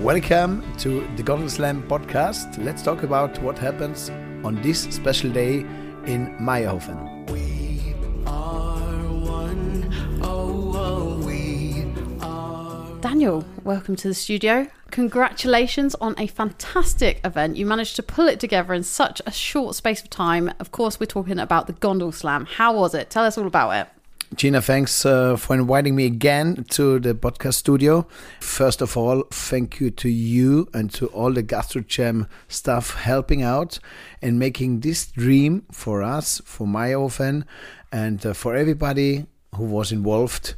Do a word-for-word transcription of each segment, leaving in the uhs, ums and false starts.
Welcome to the Gondola Slam podcast. Let's talk about what happens on this special day in Mayrhofen. We are one, oh, oh, we are... Daniel, welcome to the studio. Congratulations on a fantastic event. You managed to pull it together in such a short space of time. Of course, we're talking about the Gondola Slam. How was it? Tell us all about it. Gina, thanks uh, for inviting me again to the podcast studio. First of all, thank you to you and to all the GastroJam staff helping out and making this dream for us, for Mayrhofen, and uh, for everybody who was involved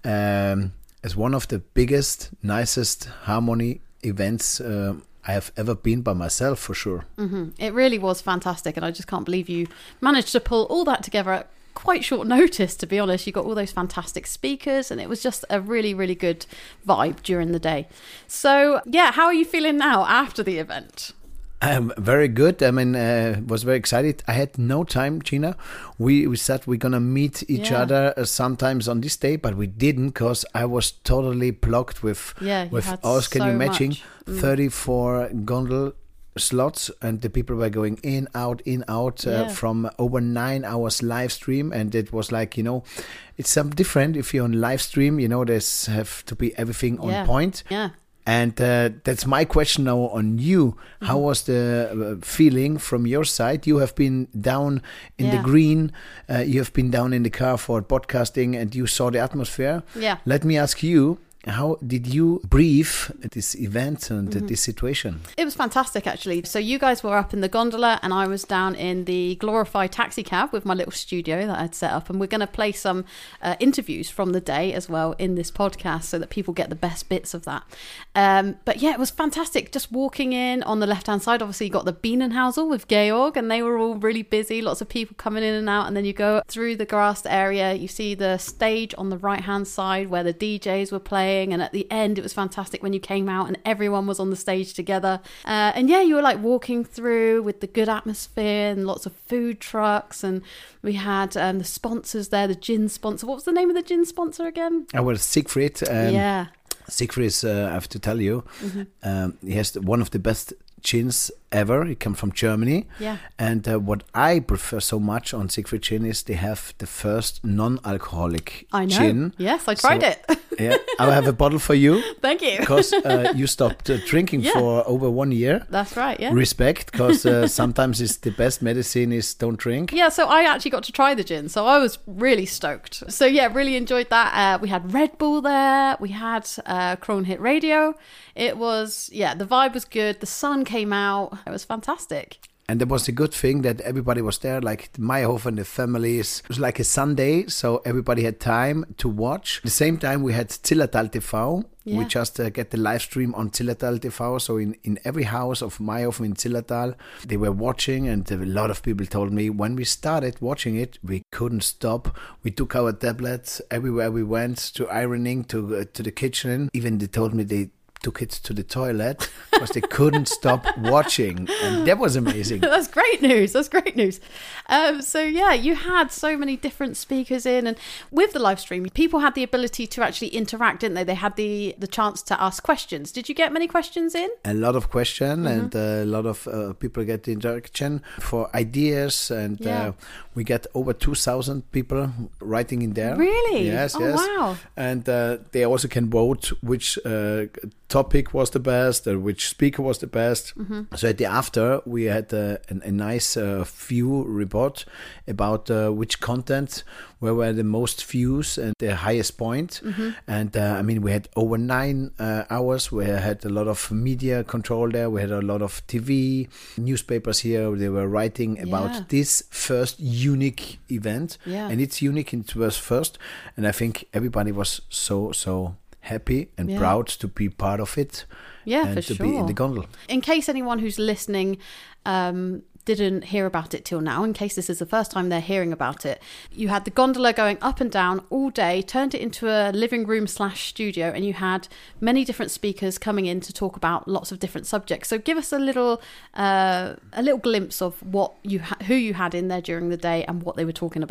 um, as one of the biggest, nicest harmony events uh, I have ever been by myself, for sure. Mm-hmm. It really was fantastic, and I just can't believe you managed to pull all that together at quite short notice, to be honest. You got all those fantastic speakers, and it was just a really, really good vibe during the day. So, yeah, how are you feeling now after the event? I'm very good. I mean, uh, was very excited. I had no time, Gina. We we said we're gonna meet each Yeah. other uh, sometimes on this day, but we didn't because I was totally blocked with Yeah, you with had us. Can you so imagine much. Mm. thirty-four gondol slots, and the people were going in, out, in, out uh, Yeah. from over nine hours live stream, and it was like, you know, it's some different if you're on live stream. You know, there's have to be everything on Yeah. point. Yeah. And uh, that's my question now on you. How was the uh, feeling from your side? You have been down in Yeah. the green. Uh, you have been down in the car for podcasting, and you saw the atmosphere. Yeah. Let me ask you, how did you brief this event and Mm-hmm. this situation? It was fantastic, actually. So you guys were up in the gondola and I was down in the glorified taxi cab with my little studio that I'd set up. And we're going to play some uh, interviews from the day as well in this podcast so that people get the best bits of that. Um, but yeah, it was fantastic. Just walking in on the left-hand side, obviously you got the Bienenhausel with Georg, and they were all really busy. Lots of people coming in and out. And then you go through the grassed area. You see the stage on the right-hand side where the D Js were playing. And at the end, it was fantastic when you came out and everyone was on the stage together. Uh, and yeah, you were like walking through with the good atmosphere and lots of food trucks. And we had um, the sponsors there, the gin sponsor. What was the name of the gin sponsor again? I was Siegfried. Um, yeah. Siegfried is, uh, I have to tell you, Mm-hmm. um, he has one of the best gins ever. He comes from Germany. Yeah. And uh, what I prefer so much on Siegfried Gin is they have the first non-alcoholic I know. gin. Yes, I tried So- it. Yeah, I have a bottle for you Thank you. because uh, you stopped uh, drinking Yeah. for over one year. That's right, yeah. Respect, because uh, sometimes it's the best medicine is don't drink. Yeah, so I actually got to try the gin, so I was really stoked. So yeah, really enjoyed that. Uh, we had Red Bull there, we had uh, Krone Hit Radio. It was, yeah, the vibe was good. The sun came out. It was fantastic. And there was a good thing that everybody was there, like Mayrhofen, the families. It was like a Sunday, so everybody had time to watch. At the same time, we had Zillertal T V. Yeah. We just uh, get the live stream on Zillertal T V. So in, in every house of Mayrhofen in Zillertal, they were watching. And a lot of people told me when we started watching it, we couldn't stop. We took our tablets everywhere we went, to ironing, to, uh, to the kitchen. Even they told me they took it to the toilet because they couldn't stop watching, and that was amazing. That's great news. That's great news. Um, so yeah, you had so many different speakers in, and with the live stream, people had the ability to actually interact, didn't they? They had the the chance to ask questions. Did you get many questions in? A lot of question Mm-hmm. and uh, a lot of uh, people get the interaction for ideas, and Yeah. uh, we get over two thousand people writing in there. Really? Yes, Oh, yes. wow. And uh, they also can vote which uh, topic was the best, or which speaker was the best. Mm-hmm. So at the after, we had uh, a, a nice uh, view report about uh, which content where were the most views and the highest point. Mm-hmm. And uh, I mean, we had over nine uh, hours. We had a lot of media control there. We had a lot of T V, newspapers here. They were writing about Yeah. this first unique event. Yeah. And it's unique. It was first. And I think everybody was so, so happy and Yeah. proud to be part of it. Yeah, and for to sure. be in the gondola. In case anyone who's listening um, didn't hear about it till now, in case this is the first time they're hearing about it, you had the gondola going up and down all day, turned it into a living room slash studio, and you had many different speakers coming in to talk about lots of different subjects. So give us a little uh, a little glimpse of what you ha- who you had in there during the day and what they were talking about.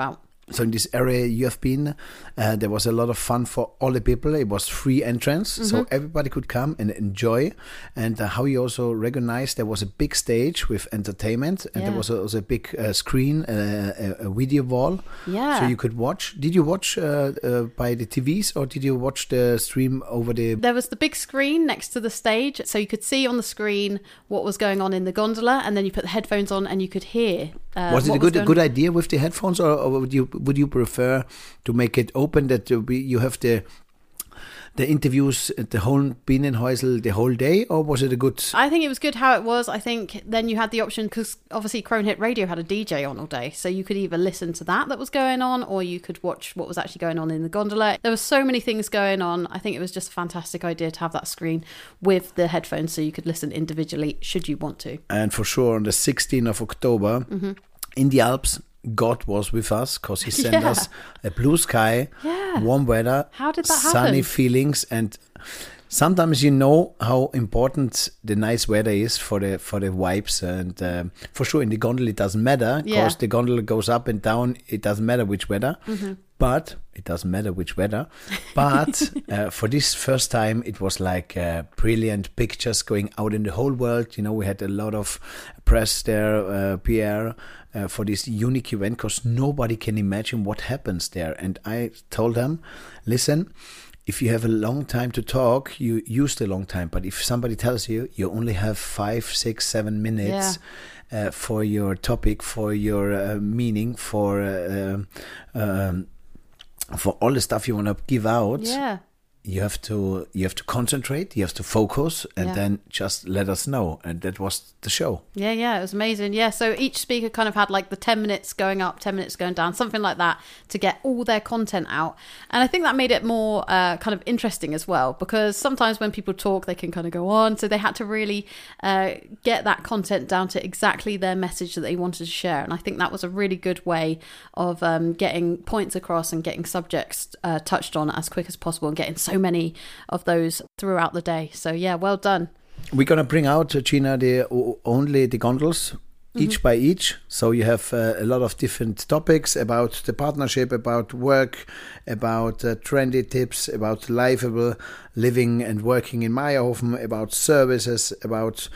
So in this area you have been, uh, there was a lot of fun for all the people. It was free entrance, so everybody could come and enjoy. And uh, how you also recognized there was a big stage with entertainment, and Yeah. there was also a big uh, screen, uh, a, a video wall, Yeah. so you could watch. Did you watch uh, uh, by the T Vs, or did you watch the stream over the? There was the big screen next to the stage, so you could see on the screen what was going on in the gondola, and then you put the headphones on and you could hear. Uh, Was it what a good a going good on. idea with the headphones, or, or would you would you prefer to make it open that you be- you have the the interviews at the whole Bienenhäusl the whole day, or was it a good? I think it was good how it was. I think then you had the option, because obviously Crone Hit Radio had a D J on all day, so you could either listen to that that was going on, or you could watch what was actually going on in the gondola. There were so many things going on. I think it was just a fantastic idea to have that screen with the headphones, so you could listen individually should you want to. And for sure, on the sixteenth of October, Mm-hmm. in the Alps, God was with us because He sent Yeah. us a blue sky, Yeah. warm weather, How did that sunny happen? feelings, and sometimes you know how important the nice weather is for the for the vibes. And um, for sure, in the gondola it doesn't matter because Yeah. the gondola goes up and down. It doesn't matter which weather. But it doesn't matter which weather. But uh, for this first time, it was like uh, brilliant pictures going out in the whole world. You know, we had a lot of press there, uh, P R, uh, for this unique event because nobody can imagine what happens there. And I told them, listen, if you have a long time to talk, you use the long time. But if somebody tells you you only have five, six, seven minutes uh, for your topic, for your uh, meaning, for uh, um, for all the stuff you want to give out, Yeah. you have to you have to concentrate, you have to focus, and Yeah. then just let us know. And that was the show. Yeah, yeah, it was amazing. Yeah, so each speaker kind of had like the ten minutes going up, ten minutes going down, something like that, to get all their content out. And I think that made it more uh, kind of interesting as well, because sometimes when people talk, they can kind of go on. So they had to really uh, get that content down to exactly their message that they wanted to share. And I think that was a really good way of um, getting points across and getting subjects uh, touched on as quick as possible and getting so many of those throughout the day. So yeah, well done. We're gonna bring out, uh, Gina, the o- only the gondolas, each by each. So you have uh, a lot of different topics about the partnership, about work, about uh, trendy tips, about livable living and working in Meyerhofen, about services, about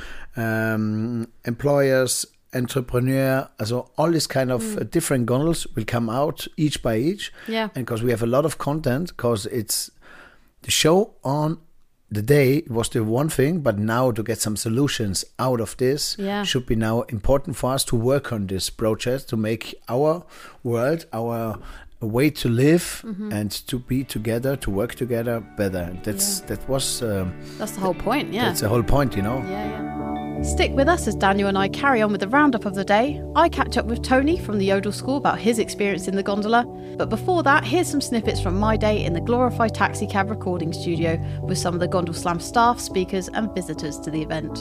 um, employers, entrepreneur. So all these kind of uh, different gondolas will come out each by each. Yeah. And because we have a lot of content, because it's the show on the day was the one thing, but now to get some solutions out of this Yeah. should be now important for us to work on this project to make our world, our way to live Mm-hmm. and to be together, to work together better. That's that was um, That's the whole point. Yeah. that's the whole point, you know. Yeah, yeah. Stick with us as Daniel and I carry on with the roundup of the day. I catch up with Tony from the Yodel School about his experience in the gondola. But before that, here's some snippets from my day in the Glorify Taxi Cab recording studio with some of the Gondol Slam staff, speakers and visitors to the event.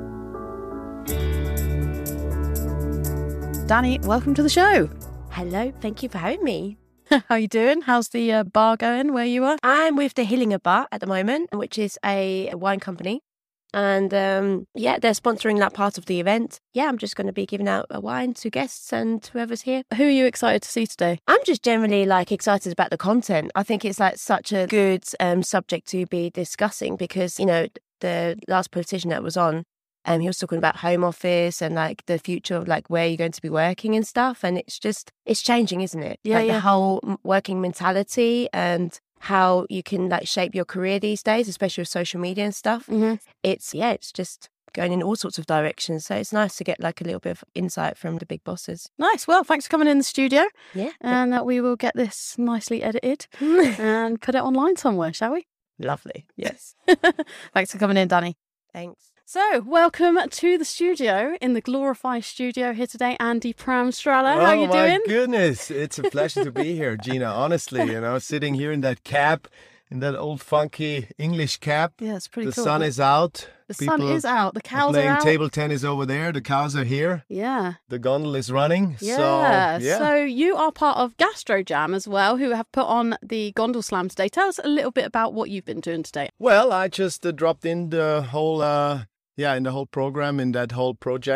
Danny, welcome to the show. Hello, thank you for having me. How you doing? How's the uh, bar going where you are? I'm with the Hillinger Bar at the moment, which is a wine company. And um, yeah, they're sponsoring that part of the event. Yeah, I'm just going to be giving out a wine to guests and whoever's here. Who are you excited to see today? I'm just generally like excited about the content. I think it's like such a good um, subject to be discussing because, you know, the last politician that was on, um, he was talking about home office and like the future of like where you're going to be working and stuff. And it's just, it's changing, isn't it? Yeah, like yeah. the whole m- working mentality and how you can like shape your career these days, especially with social media and stuff. Mm-hmm. It's, yeah, it's just going in all sorts of directions. So it's nice to get like a little bit of insight from the big bosses. Nice. Well, thanks for coming in the studio. Yeah. And uh, we will get this nicely edited and put it online somewhere, shall we? Lovely. Yes. Thanks for coming in, Danny. Thanks. So, welcome to the studio, in the Glorify studio here today, Andy Pramstrala. How oh you my doing? goodness, it's a pleasure to be here, Gina. Honestly, you know, sitting here in that cap, in that old funky English cap. Yeah, it's pretty the cool. sun is out. The sun People is out. The are cows are playing out. table tennis over there. The cows are here. Yeah. The gondola is running. Yeah. So, yeah. So you are part of Gastro Jam as well, who have put on the Gondol Slam today. Tell us a little bit about what you've been doing today. Well, I just uh, dropped in the whole, uh, yeah, in the whole program, in that whole project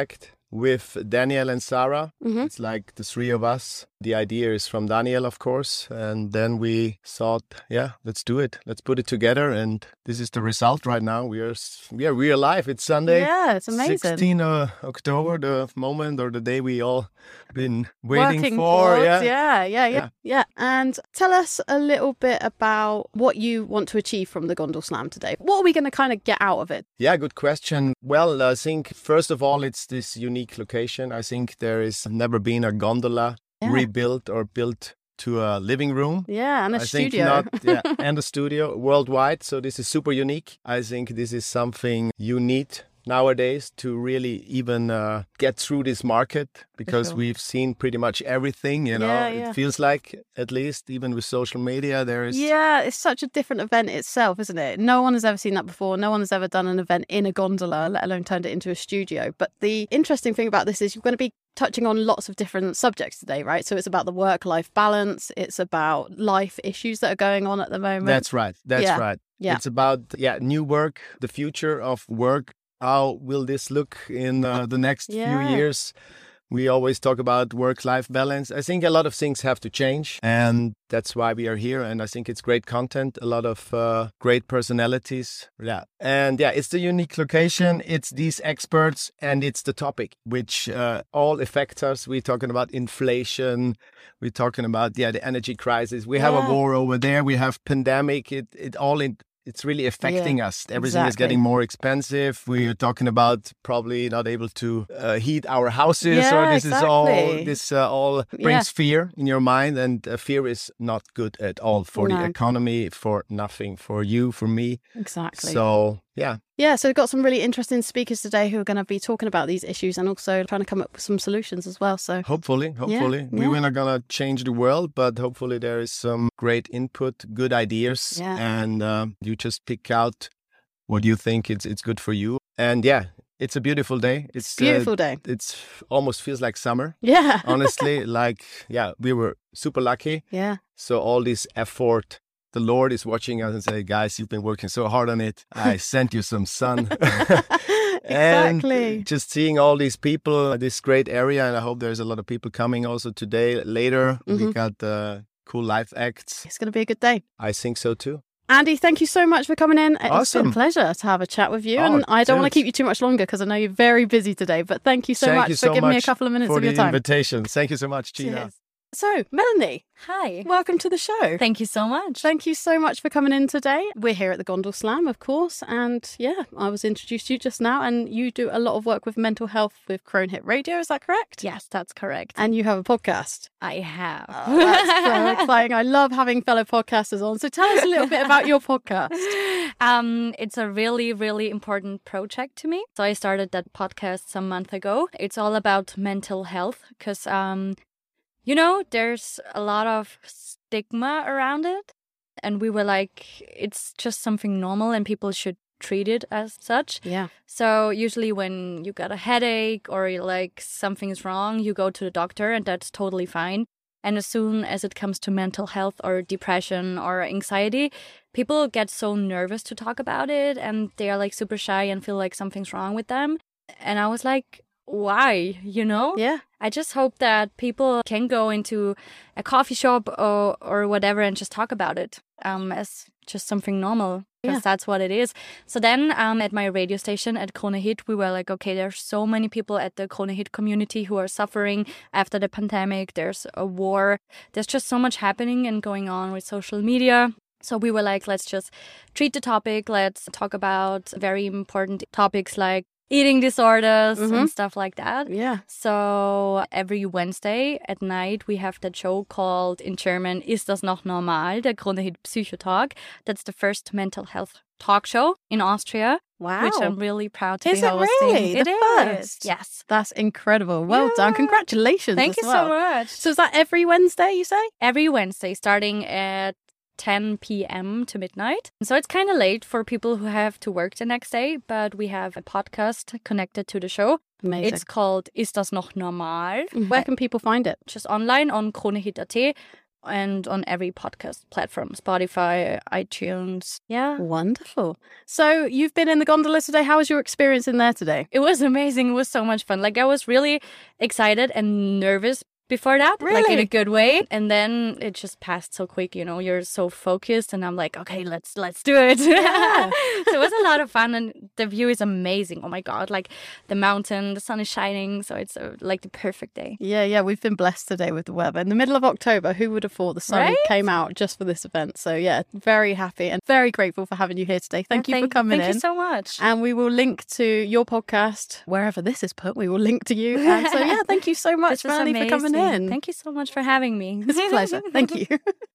with Daniel and Sarah. Mhm. It's like the three of us. The idea is from Daniel, of course. And then we thought, yeah, let's do it. Let's put it together. And this is the result right now. We are, s- yeah, we are live. It's Sunday. Yeah, it's amazing. sixteenth of October, the moment or the day we all been waiting Working for. towards, Yeah. yeah, yeah, yeah, Yeah. yeah. And tell us a little bit about what you want to achieve from the Gondel Slam today. What are we going to kind of get out of it? Yeah, good question. Well, I think first of all, it's this unique location. I think there is never been a gondola Yeah. rebuilt or built to a living room. Yeah, and a I studio. think not, yeah, and a studio worldwide. So this is super unique. I think this is something you need nowadays to really even uh, get through this market because sure. we've seen pretty much everything. You know, Yeah, yeah. it feels like at least even with social media, there is. Yeah, it's such a different event itself, isn't it? No one has ever seen that before. No one has ever done an event in a gondola, let alone turned it into a studio. But the interesting thing about this is you're going to be touching on lots of different subjects today, right? So it's about the work-life balance. It's about life issues that are going on at the moment. That's right. That's Yeah. right. Yeah. It's about yeah new work, the future of work. How will this look in uh, the next Yeah. few years? We always talk about work-life balance. I think a lot of things have to change, and that's why we are here. And I think it's great content, a lot of uh, great personalities. Yeah, and yeah, it's the unique location. It's these experts, and it's the topic which uh, all affects us. We're talking about inflation. We're talking about yeah the energy crisis. We have Yeah. a war over there. We have pandemic. It it all in. It's really affecting us. Everything is exactly. getting more expensive. We are talking about probably not able to uh, heat our houses, Yeah, or this is all exactly. this uh, all brings fear in your mind, and uh, fear is not good at all for No. the economy, for nothing, for you, for me. Exactly. So yeah, Yeah, so we've got some really interesting speakers today who are going to be talking about these issues and also trying to come up with some solutions as well. So hopefully, hopefully we yeah. we're not gonna change the world, but hopefully there is some great input, good ideas, Yeah. and uh, you just pick out what you think it's it's good for you. And yeah, it's a beautiful day. It's uh, beautiful day. It's almost feels like summer. Yeah. Honestly, like yeah, we were super lucky. Yeah. So all this effort, the Lord is watching us and say, guys, you've been working so hard on it. I sent you some sun. Exactly. And just seeing all these people, this great area, and I hope there's a lot of people coming also today. Later, we Mhm. got uh, cool live acts. It's going to be a good day. I think so too. Andy, thank you so much for coming in. It's been a Awesome. pleasure to have a chat with you. Oh, and I don't want to dude. keep you too much longer because I know you're very busy today. But thank you so Thank much you for so giving me a much couple of minutes for of your the time. invitation. Thank you so much, Gina. Cheers. So, Melanie, Hi. welcome to the show. Thank you so much. Thank you so much for coming in today. We're here at the Gondel Slam, of course. And yeah, I was introduced to you just now. And you do a lot of work with mental health with Crone Hit Radio. Is that correct? Yes, that's correct. And you have a podcast. I have. Oh, that's so exciting. I love having fellow podcasters on. So tell us a little bit about your podcast. Um, it's a really, really important project to me. So I started that podcast some month ago. It's all about mental health because, um, you know, there's a lot of stigma around it. And we were like, it's just something normal and people should treat it as such. Yeah. So usually when you got a headache or you're like something's wrong, you go to the doctor and that's totally fine. And as soon as it comes to mental health or depression or anxiety, people get so nervous to talk about it and they are like super shy and feel like something's wrong with them. And I was like, why? You know? Yeah. I just hope that people can go into a coffee shop or, or whatever and just talk about it um, as just something normal. Because Yeah. that's what it is. So then um, at my radio station at Krone Hit, we were like, okay, there's so many people at the Krone Hit community who are suffering after the pandemic. There's a war. There's just so much happening and going on with social media. So we were like, let's just treat the topic. Let's talk about very important topics like eating disorders Mhm. and stuff like that. Yeah. So every Wednesday at night, we have that show called, in German, Ist das noch normal? Der Krone Hit Psychotalk. That's the first mental health talk show in Austria, Wow. which I'm really proud to Is be it hosting. really? It The is. first? Yes. That's incredible. Well done. Yeah. Congratulations. Thank as you well. so much. So is that every Wednesday, you say? Every Wednesday, starting at ten p.m. to midnight. So it's kind of late for people who have to work the next day, but we have a podcast connected to the show. Amazing. It's called Ist das noch normal? Where can people find it? Just online on kronehit dot at. and on every podcast platform, Spotify, iTunes. Yeah. Wonderful. So you've been in the gondola today. How was your experience in there today? It was amazing. It was so much fun. Like, I was really excited and nervous before that, like in Really? a good way. And then it just passed so quick, you know, you're so focused and I'm like, okay, let's let's do it. Yeah. So it was a lot of fun and the view is amazing. Oh my God, like the mountain, the sun is shining. So it's uh, like the perfect day. Yeah, yeah, we've been blessed today with the weather. In the middle of October, who would have thought the sun Right? came out just for this event? So yeah, very happy and very grateful for having you here today. Thank you for coming thank in. you so much. And we will link to your podcast wherever this is put. We will link to you. And so yeah, thank you so much, This was Melanie, for coming amazing. in. Thank you so much for having me. It's a pleasure. Thank you.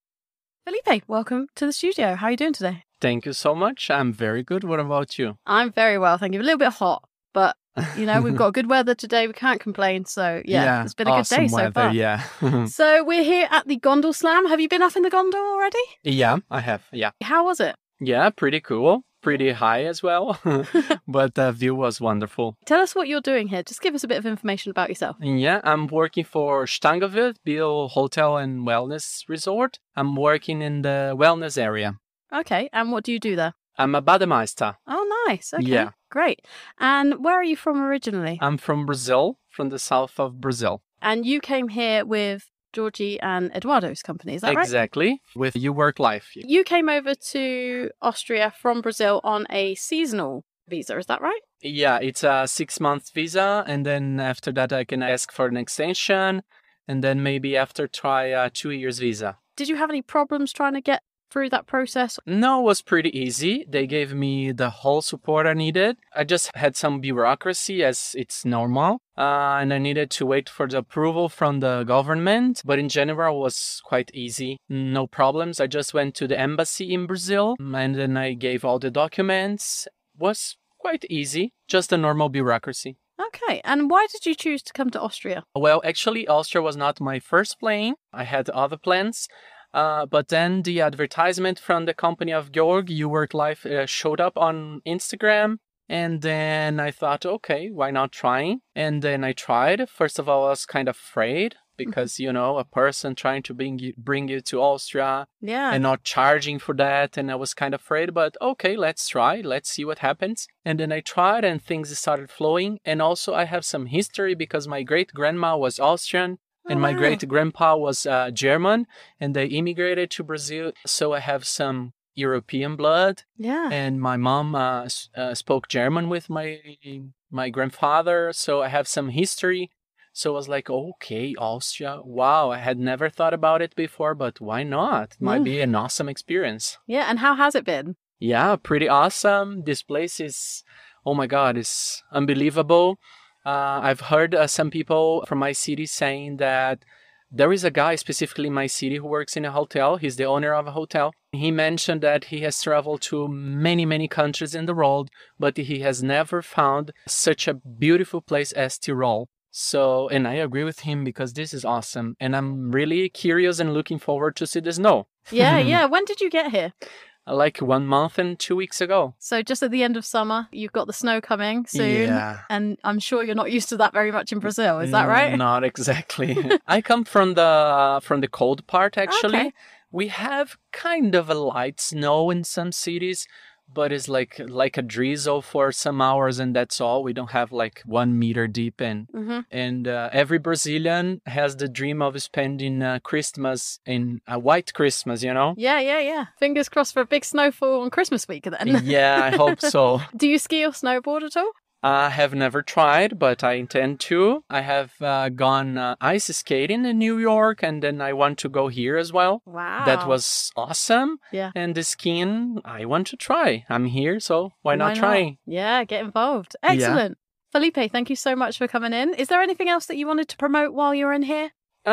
Felipe, welcome to the studio. How are you doing today? Thank you so much. I'm very good. What about you? I'm very well, thank you. A little bit hot, but you know, we've got good weather today. We can't complain. So yeah, it's been a awesome good day so weather, far. Yeah. So we're here at the Gondol Slam. Have you been up in the gondol already? yeah, I have. Yeah. How was it? Yeah, pretty cool. Pretty high as well. But the view was wonderful. Tell us what you're doing here. Just give us a bit of information about yourself. Yeah, I'm working for Stangewild, Biel Hotel and Wellness Resort. I'm working in the wellness area. Okay, and what do you do there? I'm a bademeister. Oh, nice. Okay, Yeah. great. And where are you from originally? I'm from Brazil, from the south of Brazil. And you came here with Georgie and Eduardo's company, is that right? Exactly. With You Work Life. You came over to Austria from Brazil on a seasonal visa, is that right? Yeah, it's a six-month visa, and then after that I can ask for an extension, and then maybe after try a two years visa. Did you have any problems trying to get through that process? No, it was pretty easy. They gave me the whole support I needed. I just had some bureaucracy, as it's normal, uh, and I needed to wait for the approval from the government. But in general, it was quite easy. No problems. I just went to the embassy in Brazil, and then I gave all the documents. It was quite easy, just a normal bureaucracy. Okay, and why did you choose to come to Austria? Well, actually, Austria was not my first plan. I had other plans. Uh, but then the advertisement from the company of Georg, You Work Life, uh, showed up on Instagram. And then I thought, okay, why not trying? And then I tried. First of all, I was kind of afraid because, you know, a person trying to bring you, bring you to Austria Yeah. and not charging for that. And I was kind of afraid, but okay, let's try. Let's see what happens. And then I tried and things started flowing. And also I have some history because my great grandma was Austrian. And my wow. great grandpa was uh, German, and they immigrated to Brazil. So I have some European blood. Yeah. And my mom uh, s- uh, spoke German with my my grandfather. So I have some history. So I was like, okay, Austria. Wow, I had never thought about it before, but why not? It might Mm. be an awesome experience. Yeah, and how has it been? Yeah, pretty awesome. This place is, oh my God, it's unbelievable. Uh, I've heard uh, some people from my city saying that there is a guy specifically in my city who works in a hotel. He's the owner of a hotel. He mentioned that he has traveled to many, many countries in the world, but he has never found such a beautiful place as Tyrol. So, and I agree with him because this is awesome. And I'm really curious and looking forward to see the snow. Yeah, yeah. When did you get here? Like one month and two weeks ago. So just at the end of summer, you've got the snow coming soon. Yeah. And I'm sure you're not used to that very much in Brazil. Is that right? Not exactly. I come from the from the cold part actually. Okay. We have kind of a light snow in some cities, but it's like like a drizzle for some hours and that's all. We don't have like one meter deep in. Mm-hmm. And uh, every Brazilian has the dream of spending uh, Christmas in a white Christmas, you know? Yeah, yeah, yeah. Fingers crossed for a big snowfall on Christmas week then. Yeah, I hope so. Do you ski or snowboard at all? I have never tried, but I intend to. I have uh, gone uh, ice skating in New York, and then I want to go here as well. Wow. That was awesome. Yeah. And the skiing, I want to try. I'm here, so why not try? Yeah, get involved. Excellent. Felipe, thank you so much for coming in. Is there anything else that you wanted to promote while you're in here?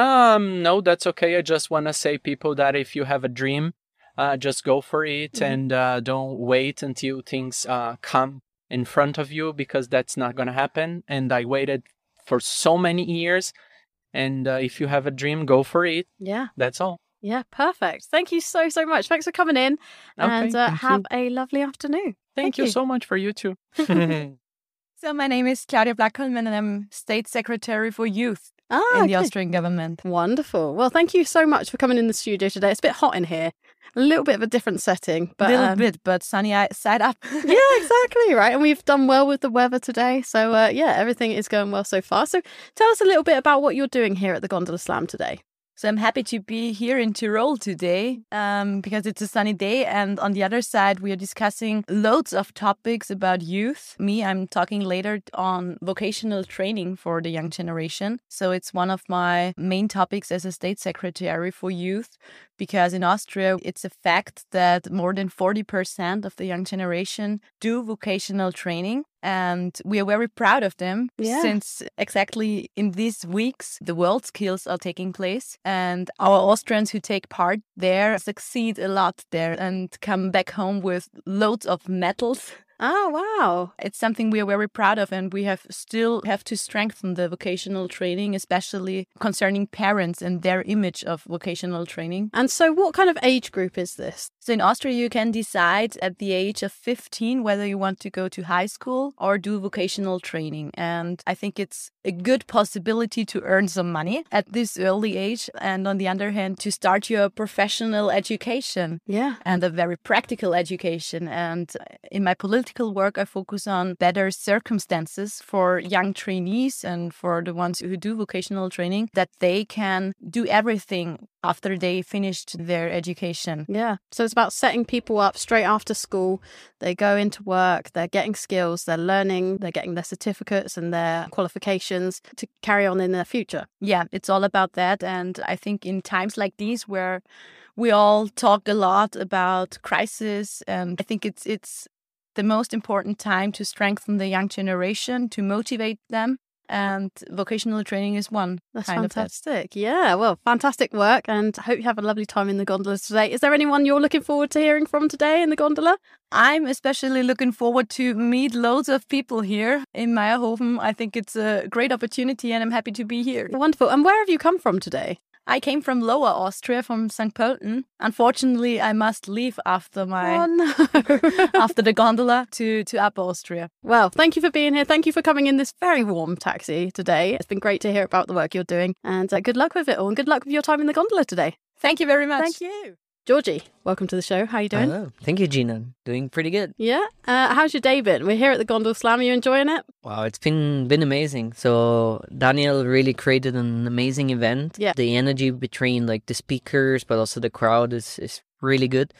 Um, no, that's okay. I just want to say, people, that if you have a dream, uh, just go for it, Mhm. and uh, don't wait until things uh, come in front of you, because that's not going to happen. And I waited for so many years. And uh, if you have a dream, go for it. Yeah. That's all. Yeah, perfect. Thank you so, so much. Thanks for coming in. Okay, and uh, thank have a lovely afternoon. Thank, you so much for you too. So my name is Claudia Blackholm and I'm State Secretary for Youth. Ah, in the okay. Austrian government. Wonderful. Well, thank you so much for coming in the studio today. It's a bit hot in here, a little bit of a different setting, A but little um, bit, but sunny eye- side up. yeah, exactly right. And we've done well with the weather today, so uh, yeah, everything is going well so far. So, tell us a little bit about what you're doing here at the Gondola Slam today. So I'm happy to be here in Tyrol today um, because it's a sunny day. And on the other side, we are discussing loads of topics about youth. Me, I'm talking later on vocational training for the young generation. So it's one of my main topics as a state secretary for youth, because in Austria, it's a fact that more than forty percent of the young generation do vocational training. And we are very proud of them Yeah. since exactly in these weeks, the World Skills are taking place. And our Austrians who take part there succeed a lot there and come back home with loads of medals. Oh, wow. It's something we are very proud of, and we have still have to strengthen the vocational training, especially concerning parents and their image of vocational training. And so, what kind of age group is this? So in Austria, you can decide at the age of fifteen whether you want to go to high school or do vocational training. And I think it's a good possibility to earn some money at this early age. And on the other hand, to start your professional education Yeah. and a very practical education. And in my political work, I focus on better circumstances for young trainees and for the ones who do vocational training, that they can do everything after they finished their education. Yeah. So it's about setting people up straight after school. They go into work, they're getting skills, they're learning, they're getting their certificates and their qualifications to carry on in their future. Yeah, it's all about that. And I think in times like these where we all talk a lot about crisis, and I think it's it's the most important time to strengthen the young generation, to motivate them. And vocational training is one That's kind of that. fantastic. Yeah, well, fantastic work, and I hope you have a lovely time in the gondolas today. Is there anyone you're looking forward to hearing from today in the gondola? I'm especially looking forward to meet loads of people here in Meierhofen. I think it's a great opportunity and I'm happy to be here. Wonderful. And where have you come from today? I came from Lower Austria, from Saint Pölten. Unfortunately, I must leave after my Oh, no. after the gondola to, to Upper Austria. Well, thank you for being here. Thank you for coming in this very warm taxi today. It's been great to hear about the work you're doing. And uh, good luck with it all. And good luck with your time in the gondola today. Thank you very much. Thank you. Georgie, welcome to the show. How are you doing? Hello. Thank you, Gina. Doing pretty good. Yeah. Uh, how's your day been? We're here at the Gondola Slam. Are you enjoying it? Wow, it's been been amazing. So Daniel really created an amazing event. Yeah. The energy between like the speakers, but also the crowd is, is really good.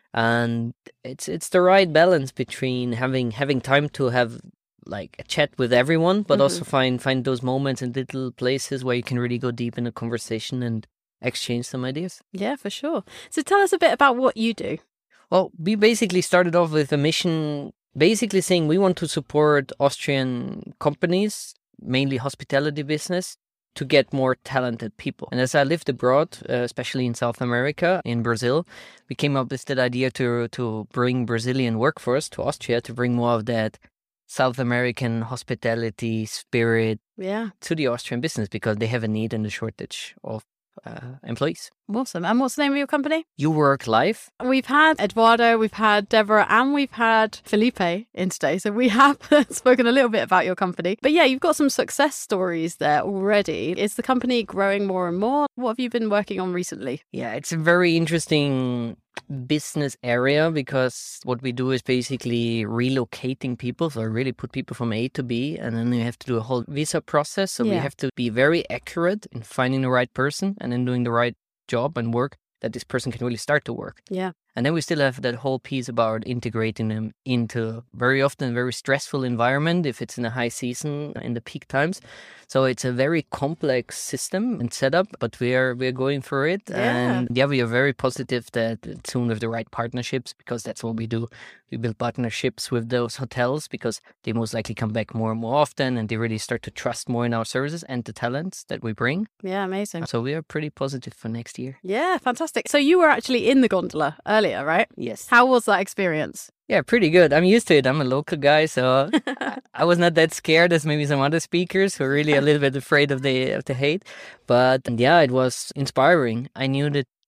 And it's it's the right balance between having having time to have like a chat with everyone, but Mhm. also find find those moments and little places where you can really go deep in a conversation and exchange some ideas. Yeah, for sure. So tell us a bit about what you do. Well, we basically started off with a mission basically saying we want to support Austrian companies, mainly hospitality business, to get more talented people. And as I lived abroad, uh, especially in South America, in Brazil, we came up with that idea to to bring Brazilian workforce to Austria, to bring more of that South American hospitality spirit Yeah. to the Austrian business, because they have a need and a shortage of uh, employees. Awesome. And what's the name of your company? You Work Life. We've had Eduardo, we've had Deborah, and we've had Felipe in today. So we have spoken a little bit about your company. But yeah, you've got some success stories there already. Is the company growing more and more? What have you been working on recently? Yeah, it's a very interesting business area, because what we do is basically relocating people. So I really put people from A to B, and then you have to do a whole visa process. So we Yeah. have to be very accurate in finding the right person and then doing the right job and work that this person can really start to work. Yeah. And then we still have that whole piece about integrating them into very often a very stressful environment if it's in a high season in the peak times. So it's a very complex system and setup, but we are we're going for it. Yeah. And yeah, we are very positive that soon with the right partnerships, because that's what we do. We build partnerships with those hotels because they most likely come back more and more often, and they really start to trust more in our services and the talents that we bring. Yeah, amazing. So we are pretty positive for next year. Yeah, fantastic. So you were actually in the gondola earlier, right? Yes. How was that experience? Yeah, pretty good. I'm used to it. I'm a local guy, so I was not that scared as maybe some other speakers who are really a little bit afraid of the of the hate. But yeah, it was inspiring. I knew that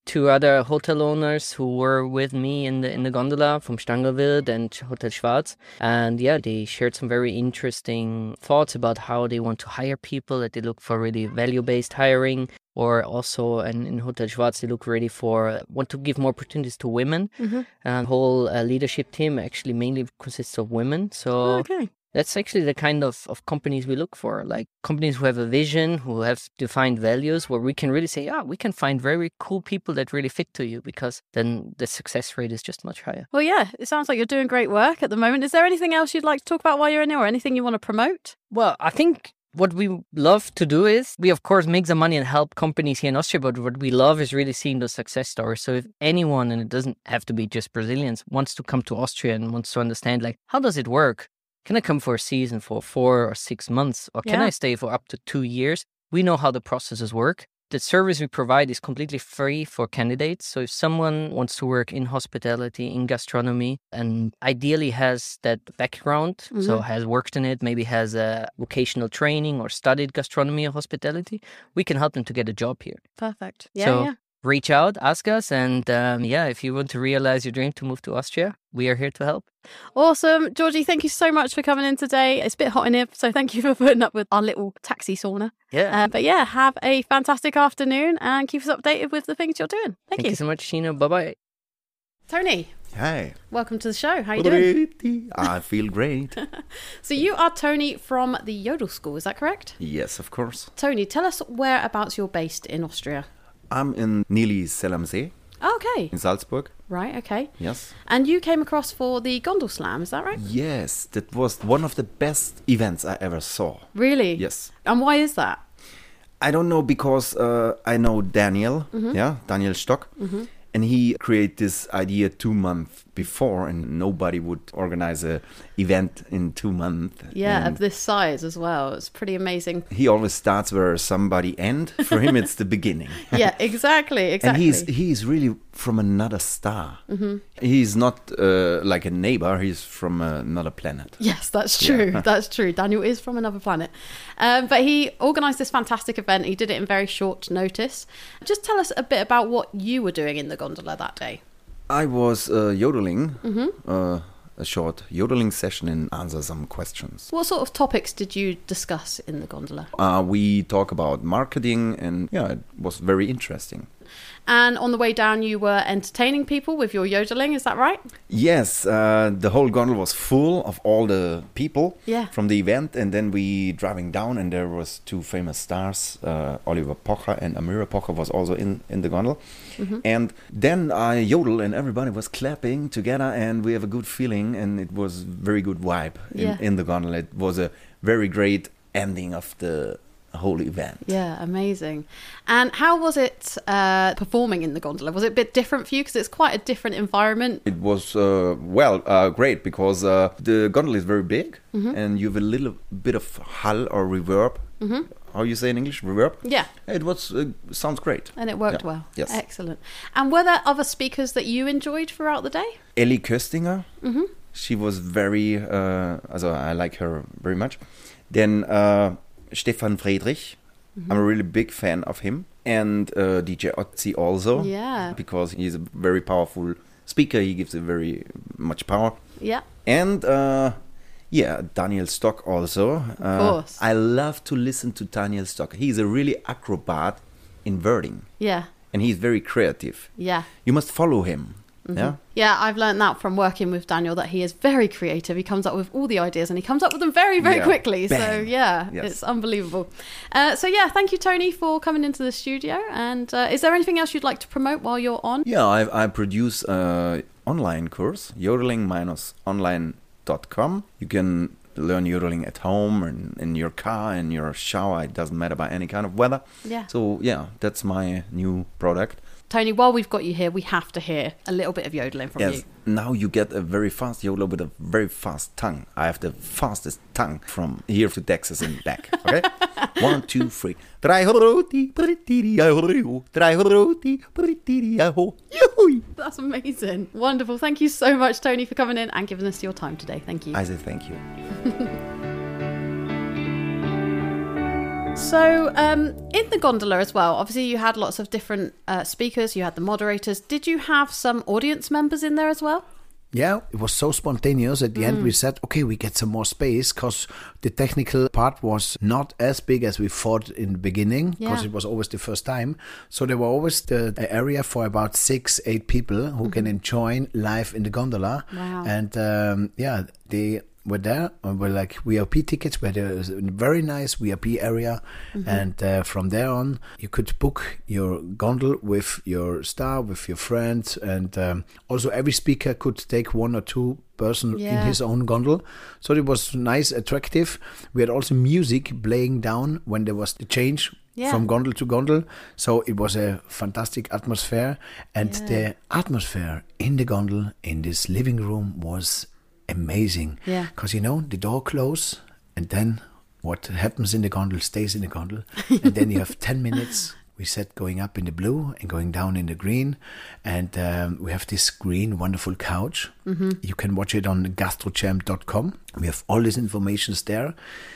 two other hotel owners who were with me in the in the gondola from Stangelwild and Hotel Schwarz. And yeah, they shared some very interesting thoughts about how they want to hire people, that they look for really value-based hiring, or also in, in Hotel Schwarz, they look really for, want to give more opportunities to women. Mm-hmm. And the whole uh, leadership team actually mainly consists of women. So Okay. that's actually the kind of, of companies we look for, like companies who have a vision, who have defined values, where we can really say, yeah, we can find very cool people that really fit to you, because then the success rate is just much higher. Well, yeah, it sounds like you're doing great work at the moment. Is there anything else you'd like to talk about while you're in there, or anything you want to promote? Well, I think what we love to do is, we of course make some money and help companies here in Austria, but what we love is really seeing those success stories. So if anyone, and it doesn't have to be just Brazilians, wants to come to Austria and wants to understand, like, how does it work? Can I come for a season for four or six months? Or can Yeah. I stay for up to two years? We know how the processes work. The service we provide is completely free for candidates. So if someone wants to work in hospitality, in gastronomy, and ideally has that background, so Mhm. has worked in it, maybe has a vocational training or studied gastronomy or hospitality, we can help them to get a job here. Perfect. Yeah, so yeah. reach out, ask us. And um, yeah, if you want to realize your dream to move to Austria, we are here to help. Awesome. Georgie, thank you so much for coming in today. It's a bit hot in here, so thank you for putting up with our little taxi sauna. Yeah. Uh, but yeah, have a fantastic afternoon and keep us updated with the things you're doing. Thank, Thank you. you so much, Sheena. Bye-bye. Tony, Hi. welcome to the show. How you doing? Pretty. I feel great. So you are Tony from the Yodel School, is that correct? Yes, of course. Tony, tell us whereabouts you're based in Austria. I'm in nearly Zell am See Okay. in Salzburg. Right, okay. Yes. And you came across for the Gondel Slam, is that right? Yes, that was one of the best events I ever saw. Really? Yes. And why is that? I don't know, because uh, I know Daniel, yeah, Daniel Stock, and he created this idea two months before, and nobody would organize a event in two months. Yeah, And of this size as well. It's pretty amazing. he always starts where somebody end. For him, it's the beginning. Yeah, exactly, exactly. And he's he's really from another star. Mm-hmm. He's not uh, like a neighbor. He's from another planet. Yes, that's true. Yeah. That's true. Daniel is from another planet. Um, but he organised this fantastic event. He did it in very short notice. Just tell us a bit about what you were doing in the gondola that day. I was uh, yodeling, uh, a short yodeling session and answer some questions. What sort of topics did you discuss in the gondola? Uh, we talk about marketing, and yeah, it was very interesting. And on the way down, you were entertaining people with your yodeling, is that right? Yes, uh, the whole gondola was full of all the people Yeah. from the event, and then we driving down, and there was two famous stars, uh, Oliver Pocher and Amira Pocher was also in, in the gondola. Mm-hmm. And then I yodel, and everybody was clapping together, and we have a good feeling, and it was very good vibe in, Yeah. in the gondola. It was a very great ending of the whole event. Yeah, amazing. And how was it uh, performing in the gondola? Was it a bit different for you? Because it's quite a different environment. It was, uh, well, uh, great, because uh, the gondola is very big, Mm-hmm. and you have a little bit of hull or reverb. Mm-hmm. How you say in English? Reverb? Yeah, It was uh, sounds great. and it worked Yeah. well. Yes. Excellent. And were there other speakers that you enjoyed throughout the day? Ellie Köstinger, Mm-hmm. she was very, uh, also I like her very much. Then uh, Stefan Friedrich, Mm-hmm. I'm a really big fan of him. And uh, D J Otzi also, Yeah. because he's a very powerful speaker. He gives a very much power. Yeah. And uh, yeah, Daniel Stock also. Of course. I love to listen to Daniel Stock. He's a really acrobat in wording, Yeah. and he's very creative. Yeah. You must follow him. Yeah. Yeah, I've learned that from working with Daniel, that he is very creative. He comes up with all the ideas and he comes up with them very, very Yeah. quickly. So, Bang. yeah, Yes. it's unbelievable. Uh, so, yeah, thank you, Tony, for coming into the studio. And uh, is there anything else you'd like to promote while you're on? Yeah, I, I produce an online course, yodeling dash online dot com. You can learn yodeling at home and in your car, in your shower. It doesn't matter by any kind of weather. Yeah. So, yeah, that's my new product. Tony, while we've got you here, we have to hear a little bit of yodeling from Yes, you. now you get a very fast yodel with a very fast tongue. I have the fastest tongue from here to Texas and back. Okay? One, two, three. That's amazing. Wonderful. Thank you so much, Tony, for coming in and giving us your time today. Thank you. I say thank you. So, um, in the gondola as well, obviously you had lots of different uh, speakers, you had the moderators. Did you have some audience members in there as well? Yeah, it was so spontaneous. At the end, we said, okay, we get some more space because the technical part was not as big as we thought in the beginning because Yeah. it was always the first time. So there were always the the area for about six, eight people who can enjoy live in the gondola. Wow. And um, yeah, they were there and were like V I P tickets where there was a very nice V I P area. And uh, from there on, you could book your gondol with your star, with your friends. And um, also every speaker could take one or two person in Yeah. his own gondol. So it was nice, attractive. We had also music playing down when there was the change Yeah. from gondol to gondol. So it was a fantastic atmosphere. And Yeah. the atmosphere in the gondol, in this living room was amazing. Yeah. Because, you know, the door closes and then what happens in the gondol stays in the gondol. And then you have ten minutes. We said going up in the blue and going down in the green. And um, we have this green, wonderful couch. You can watch it on gastrochamp dot com. We have all these informations there.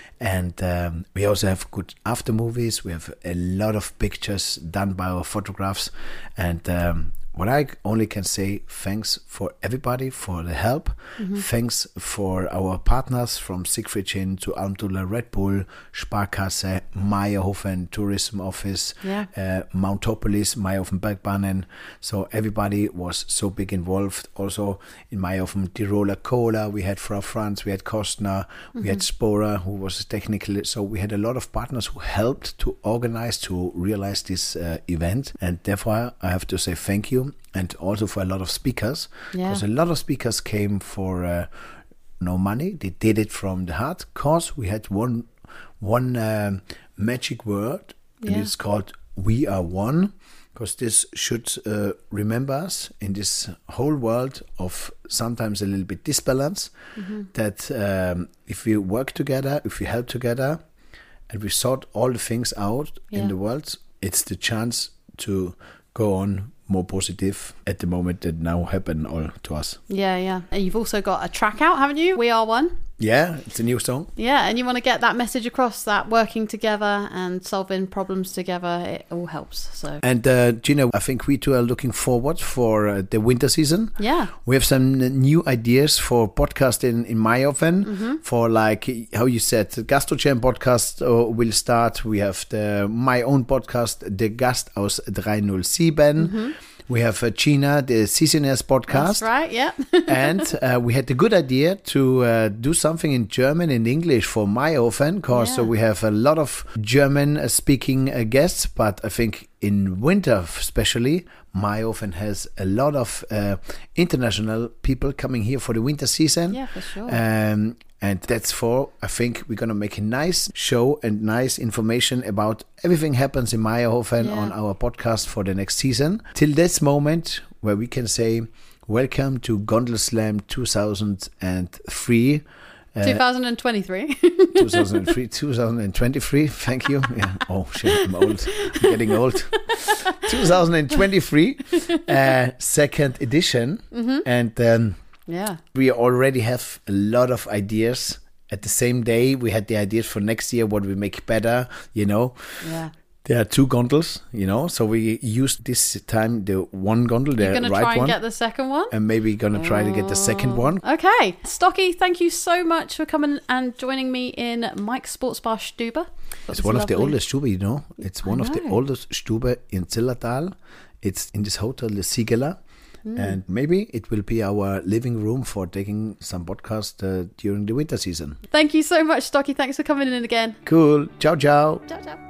And um, we also have good after movies. We have a lot of pictures done by our photographs. And um, what I only can say, thanks for everybody for the help. Thanks for our partners from Siegfried Schinn to Almdudler Red Bull, Sparkasse, Meyerhofen Tourism Office, Yeah. uh, Mountopolis, Meyerhofen Bergbahnen. So everybody was so big involved. Also in Meyerhofen Tiroler Cola, we had Frau Franz, we had Kostner, we had Spora, who was technical. So we had a lot of partners who helped to organize, to realize this uh, event. And therefore, I have to say thank you. And also for a lot of speakers, Yeah. because a lot of speakers came for uh, no money. They did it from the heart. Cause we had one one um, magic word, and Yeah. it's called "We Are One." Because this should uh, remember us in this whole world of sometimes a little bit disbalance. That um, if we work together, if we help together, and we sort all the things out Yeah. in the world, it's the chance to go on more positive at the moment that now happen all to us. Yeah, yeah. And you've also got a track out, haven't you? We Are One. Yeah, it's a new song. Yeah, and you want to get that message across that working together and solving problems together, it all helps. So, And uh, Gina, I think we two are looking forward for uh, the winter season. yeah. We have some new ideas for podcasting in Meyerhofen. For like how you said, the Gastrochamp podcast uh, will start. We have the my own podcast, the Gast aus drei null sieben. We have uh, Gina, the Seasoners podcast. That's right, yeah. And uh, we had the good idea to uh, do something in German and English for Meyerhofen, because Yeah. we have a lot of German-speaking uh, guests, but I think in winter especially, Meyerhofen has a lot of uh, international people coming here for the winter season. Yeah, for sure. Um, and that's for, I think we're going to make a nice show and nice information about everything happens in Meyerhofen Yeah. on our podcast for the next season. Till this moment where we can say, welcome to Gondel Slam two thousand three. Uh, twenty twenty-three. two thousand three, two thousand twenty-three. Thank you. Yeah. Oh shit, I'm old. I'm getting old. two thousand twenty-three, uh, second edition, and um, Yeah. we already have a lot of ideas. At the same day, we had the ideas for next year, what we make better. You know, Yeah. there are two gondolas. You know, so we used this time the one gondol, the You're going to right try and one, get the second one? and maybe gonna try to get the second one. Okay. Stocky, thank you so much for coming and joining me in Mike's Sports Bar Stube. That It's was one of the lovely. oldest Stube, you know. It's one I of the know. oldest Stube in Zillertal. It's in this hotel, the Sigela. Hmm. And maybe it will be our living room for taking some podcast uh, during the winter season. Thank you so much, Stocky. Thanks for coming in again. Cool. Ciao, ciao. Ciao, ciao.